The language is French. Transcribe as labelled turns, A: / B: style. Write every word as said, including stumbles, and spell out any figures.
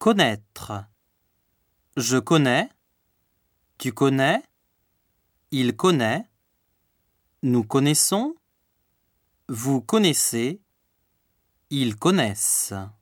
A: Connaître. Je connais. Tu connais. Il connaît. Nous connaissons. Vous connaissez. Ils connaissent.